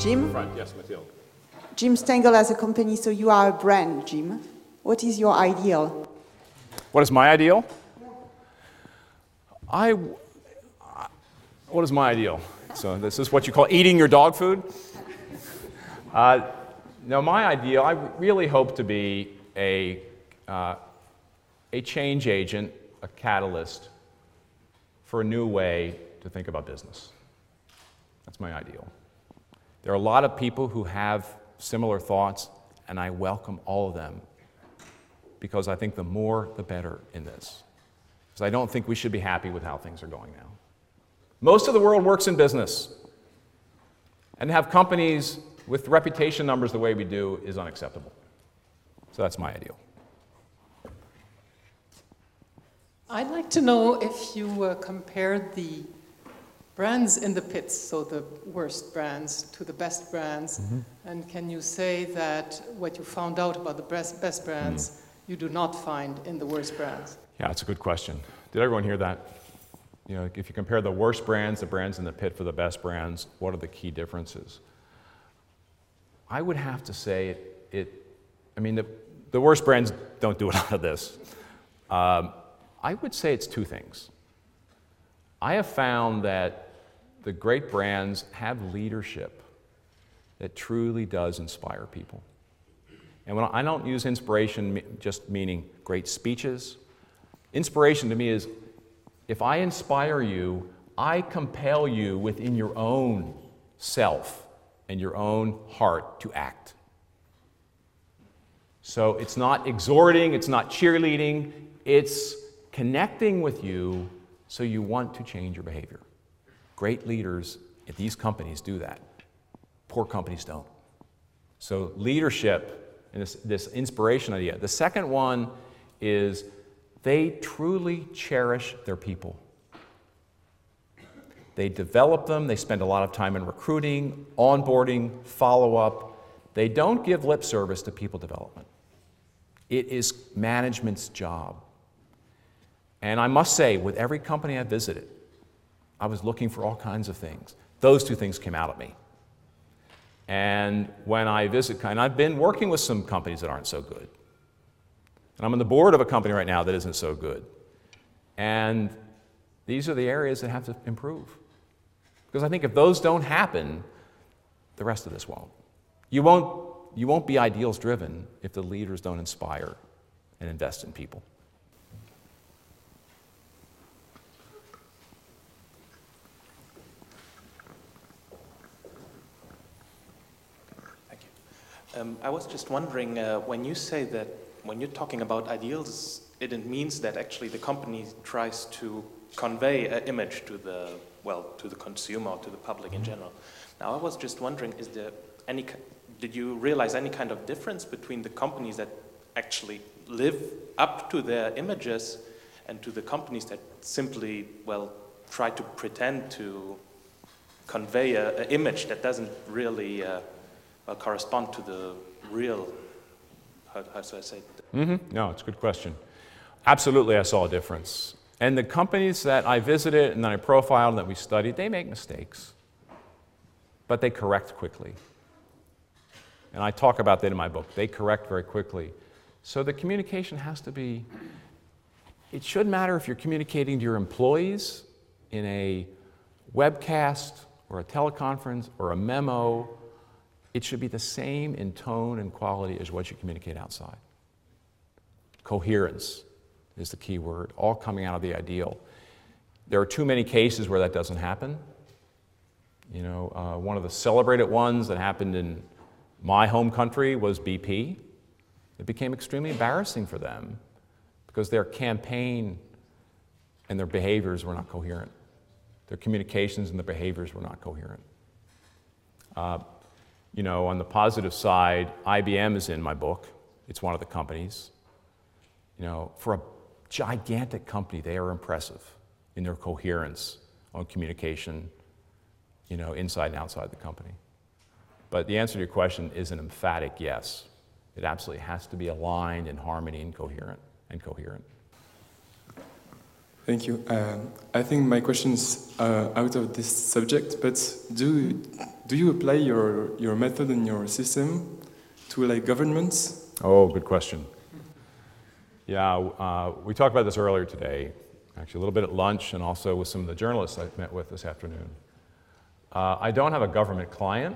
Jim? Front, yes, Mathilde. Jim Stengel as a company, so you are a brand, Jim. What is your ideal? What is my ideal? What is my ideal? So this is what you call eating your dog food? No, my ideal, I really hope to be a change agent, a catalyst for a new way to think about business. That's my ideal. There are a lot of people who have similar thoughts, and I welcome all of them because I think the more, the better in this. Because I don't think we should be happy with how things are going now. Most of the world works in business, and to have companies with reputation numbers the way we do is unacceptable. So that's my ideal. I'd like to know if you compared the brands in the pits, so the worst brands, to the best brands, and can you say that what you found out about the best brands you do not find in the worst brands? Yeah, that's a good question. Did everyone hear that? You know, if you compare the worst brands, the brands in the pit for the best brands, what are the key differences? I would have to say the worst brands don't do a lot of this. I would say it's two things. I have found that the great brands have leadership that truly does inspire people. And when I don't use inspiration just meaning great speeches, inspiration to me is if I inspire you, I compel you within your own self and your own heart to act. So it's not exhorting, it's not cheerleading, it's connecting with you so you want to change your behavior. Great leaders at these companies do that. Poor companies don't. So leadership and this inspiration idea. The second one is they truly cherish their people. They develop them, they spend a lot of time in recruiting, onboarding, follow-up. They don't give lip service to people development. It is management's job. And I must say, with every company I visited, I was looking for all kinds of things. Those two things came out at me. And when I visit, and I've been working with some companies that aren't so good. And I'm on the board of a company right now that isn't so good. And these are the areas that have to improve. Because I think if those don't happen, the rest of this won't. You won't be ideals driven if the leaders don't inspire and invest in people. I was just wondering, when you say that, when you're talking about ideals, it means that actually the company tries to convey an image to the consumer or to the public in general. Now, I was just wondering, did you realize any kind of difference between the companies that actually live up to their images and to the companies that simply, try to pretend to convey an image that doesn't really correspond to the real, how should I say it? No, it's a good question. Absolutely, I saw a difference. And the companies that I visited and that I profiled and that we studied, they make mistakes, but they correct quickly. And I talk about that in my book. They correct very quickly. So the communication has to be, it shouldn't matter if you're communicating to your employees in a webcast or a teleconference or a memo. It should be the same in tone and quality as what you communicate outside. Coherence is the key word, all coming out of the ideal. There are too many cases where that doesn't happen. You know, one of the celebrated ones that happened in my home country was BP. It became extremely embarrassing for them because their campaign and their behaviors were not coherent. Their communications and their behaviors were not coherent. You know, on the positive side, IBM is in my book. It's one of the companies. You know, for a gigantic company, they are impressive in their coherence on communication, you know, inside and outside the company. But the answer to your question is an emphatic yes. It absolutely has to be aligned in harmony and coherent. Thank you. I think my question's out of this subject, but do you apply your method and your system to like governments? Oh, good question. Yeah, we talked about this earlier today, actually a little bit at lunch and also with some of the journalists I've met with this afternoon. I don't have a government client.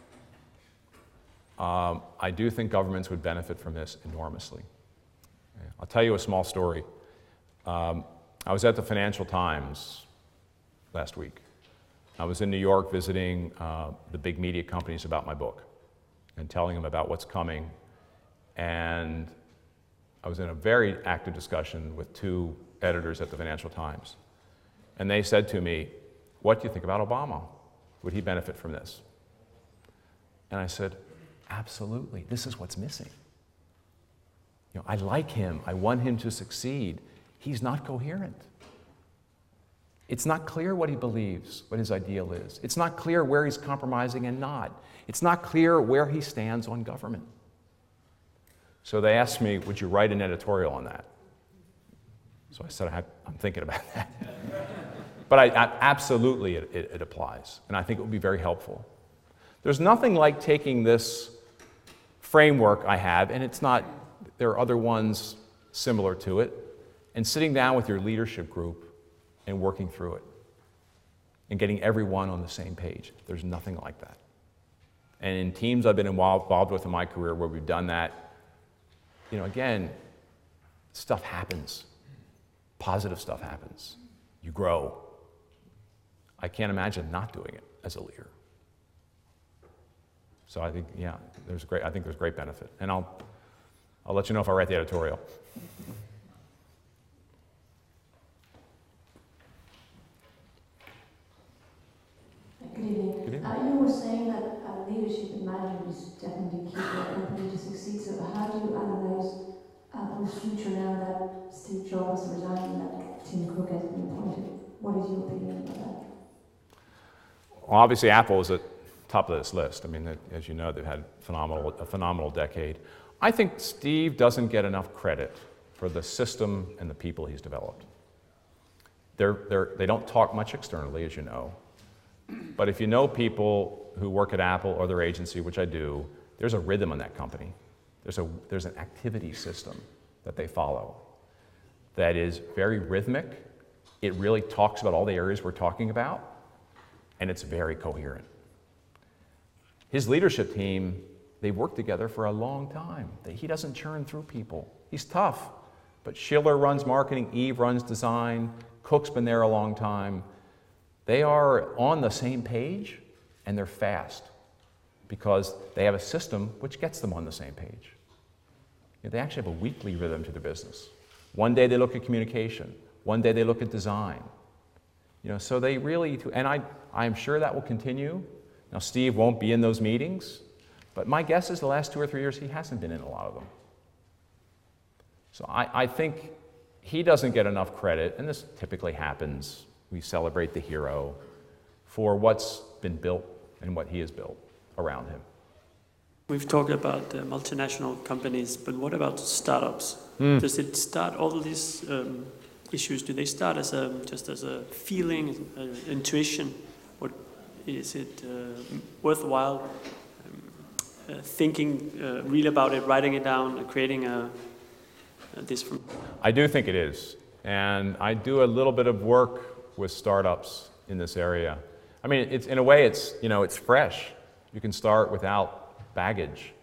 I do think governments would benefit from this enormously. I'll tell you a small story. I was at the Financial Times last week. I was in New York visiting the big media companies about my book and telling them about what's coming. And I was in a very active discussion with two editors at the Financial Times. And they said to me, "What do you think about Obama? Would he benefit from this?" And I said, "Absolutely, this is what's missing. You know, I like him, I want him to succeed. He's not coherent. It's not clear what he believes, what his ideal is. It's not clear where he's compromising and not. It's not clear where he stands on government." So they asked me, "Would you write an editorial on that?" So I said, I'm thinking about that. But absolutely it applies, and I think it would be very helpful. There's nothing like taking this framework I have, and there are other ones similar to it, and sitting down with your leadership group and working through it and getting everyone on the same page. There's nothing like that. And in teams I've been involved with in my career where we've done that, you know, again, stuff happens. Positive stuff happens. You grow. I can't imagine not doing it as a leader. So I think, yeah, I think there's great benefit. And I'll let you know if I write the editorial. Good evening. Good evening. You were saying that leadership and management is definitely key for a company to succeed. So how do you analyze the future now that Steve Jobs resigned and that Tim Cook has been appointed? What is your opinion about that? Well, obviously Apple is at the top of this list. I mean, as you know, they've had a phenomenal decade. I think Steve doesn't get enough credit for the system and the people he's developed. They don't talk much externally, as you know. But if you know people who work at Apple or their agency, which I do, there's a rhythm in that company. There's an activity system that they follow that is very rhythmic. It really talks about all the areas we're talking about, and it's very coherent. His leadership team, they've worked together for a long time. He doesn't churn through people. He's tough, but Schiller runs marketing, Eve runs design, Cook's been there a long time. They are on the same page, and they're fast because they have a system which gets them on the same page. You know, they actually have a weekly rhythm to their business. One day they look at communication. One day they look at design. You know, so they really, and I'm sure that will continue. Now, Steve won't be in those meetings, but my guess is the last 2 or 3 years he hasn't been in a lot of them. So I think he doesn't get enough credit, and this typically happens. We celebrate the hero for what's been built and what he has built around him. We've talked about multinational companies, but what about startups? Does it start all of these issues? Do they start as just as a feeling, intuition? Or is it worthwhile thinking really about it, writing it down, and creating this from? I do think it is, and I do a little bit of work with startups in this area. I mean, it's in a way, it's fresh. You can start without baggage.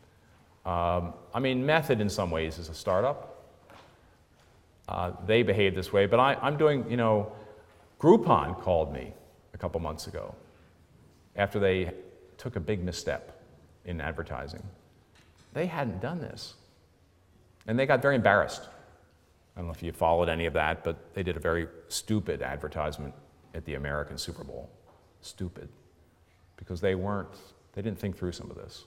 I mean, Method in some ways is a startup. They behave this way, but I'm doing, Groupon called me a couple months ago after they took a big misstep in advertising. They hadn't done this, and they got very embarrassed. I don't know if you followed any of that, but they did a very stupid advertisement at the American Super Bowl. Stupid. Because they didn't think through some of this.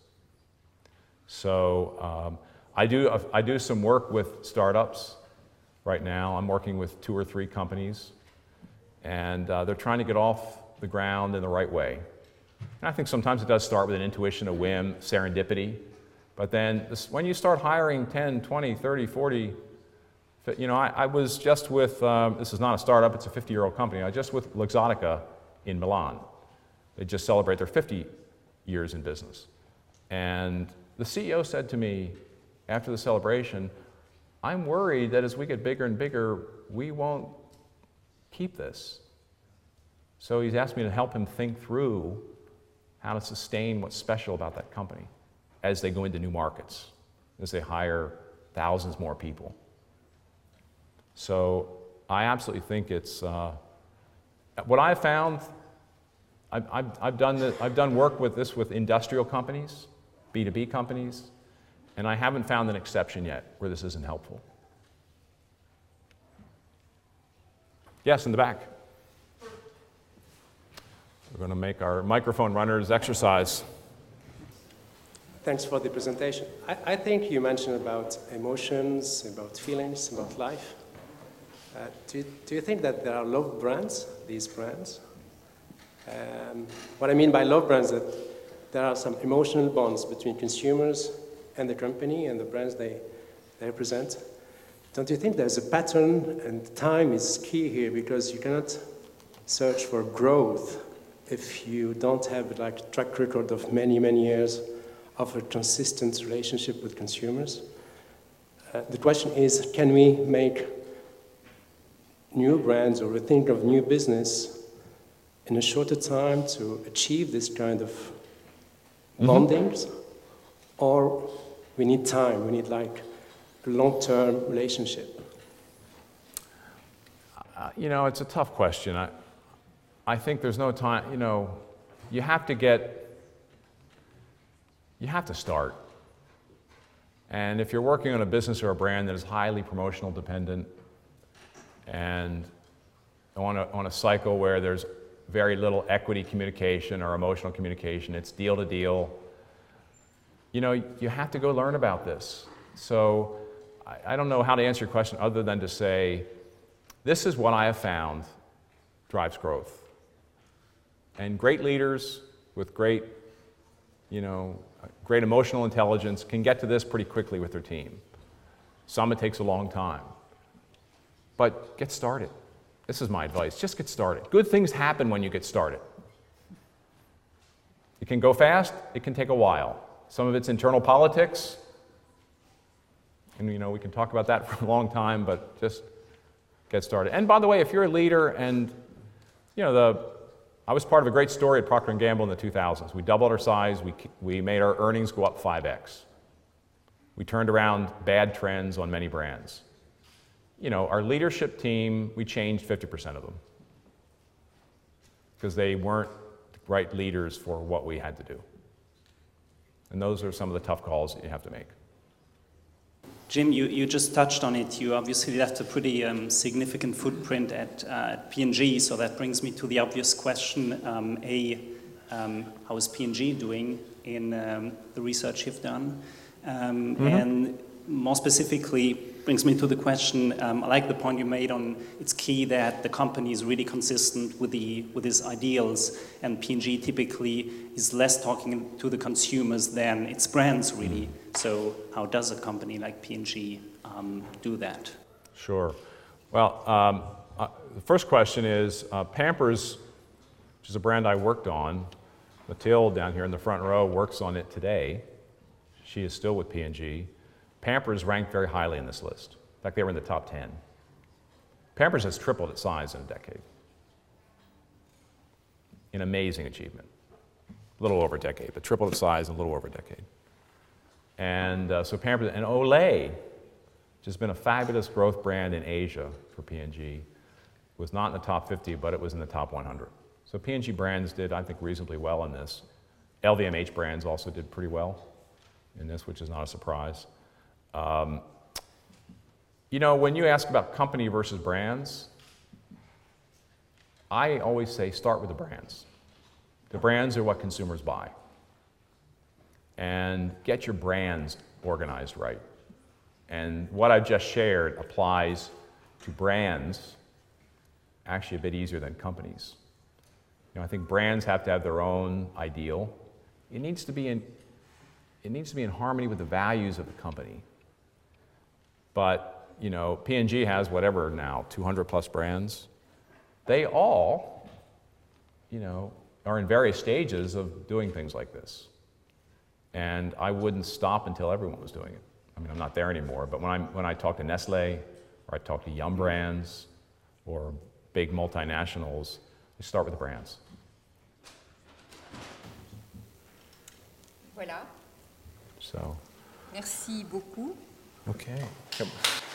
So I do some work with startups right now. I'm working with 2 or 3 companies, and they're trying to get off the ground in the right way. And I think sometimes it does start with an intuition, a whim, serendipity. But then when you start hiring 10, 20, 30, 40, You know, I was just with, this is not a startup, it's a 50-year-old company. I was just with Luxottica in Milan. They just celebrate their 50 years in business. And the CEO said to me after the celebration, I'm worried that as we get bigger and bigger, we won't keep this. So he's asked me to help him think through how to sustain what's special about that company as they go into new markets, as they hire thousands more people. So I absolutely think it's, what I've found, I've done work with this with industrial companies, B2B companies, and I haven't found an exception yet where this isn't helpful. Yes, in the back. We're going to make our microphone runners exercise. Thanks for the presentation. I think you mentioned about emotions, about feelings, about life. Do you think that there are love brands, these brands? What I mean by love brands is that there are some emotional bonds between consumers and the company and the brands they represent. Don't you think there's a pattern, and time is key here, because you cannot search for growth if you don't have like a track record of many, many years of a consistent relationship with consumers? The question is, can we make new brands or think of new business in a shorter time to achieve this kind of bondings? Or we need time, we need like a long-term relationship? You know, it's a tough question. I think there's no time, you know, you have to start. And if you're working on a business or a brand that is highly promotional dependent and on a cycle where there's very little equity communication or emotional communication, it's deal to deal, you know, you have to go learn about this. So I don't know how to answer your question other than to say, this is what I have found drives growth. And great leaders with great, you know, great emotional intelligence can get to this pretty quickly with their team. Some it takes a long time. But get started. This is my advice. Just get started. Good things happen when you get started. It can go fast. It can take a while. Some of it's internal politics. And, you know, we can talk about that for a long time, but just get started. And by the way, if you're a leader and, you know, I was part of a great story at Procter & Gamble in the 2000s. We doubled our size. We made our earnings go up 5x. We turned around bad trends on many brands. You know, our leadership team, we changed 50% of them because they weren't the right leaders for what we had to do. And those are some of the tough calls that you have to make. Jim, you just touched on it. You obviously left a pretty significant footprint at P&G, so that brings me to the obvious question. How is P&G doing in the research you've done? And more specifically, brings me to the question, I like the point you made on it's key that the company is really consistent with its ideals, and P&G typically is less talking to the consumers than its brands really. So how does a company like P&G do that? Sure. Well, the first question is Pampers, which is a brand I worked on. Mathilde down here in the front row works on it today. She is still with P&G. Pampers ranked very highly in this list. In fact, they were in the top 10. Pampers has tripled its size in a decade. An amazing achievement. A little over a decade, but tripled its size in a little over a decade. And so Pampers, and Olay, which has been a fabulous growth brand in Asia for P&G, was not in the top 50, but it was in the top 100. So P&G brands did, I think, reasonably well in this. LVMH brands also did pretty well in this, which is not a surprise. You know, when you ask about company versus brands, I always say start with the brands. The brands are what consumers buy. And get your brands organized right. And what I've just shared applies to brands actually a bit easier than companies. You know, I think brands have to have their own ideal. It needs to be in harmony with the values of the company. But you know, P&G has whatever now, 200 plus brands. They all, you know, are in various stages of doing things like this. And I wouldn't stop until everyone was doing it. I mean, I'm not there anymore, but when I talk to Nestle, or I talk to Yum Brands, or big multinationals, I start with the brands. Voilà. So. Merci beaucoup. Okay.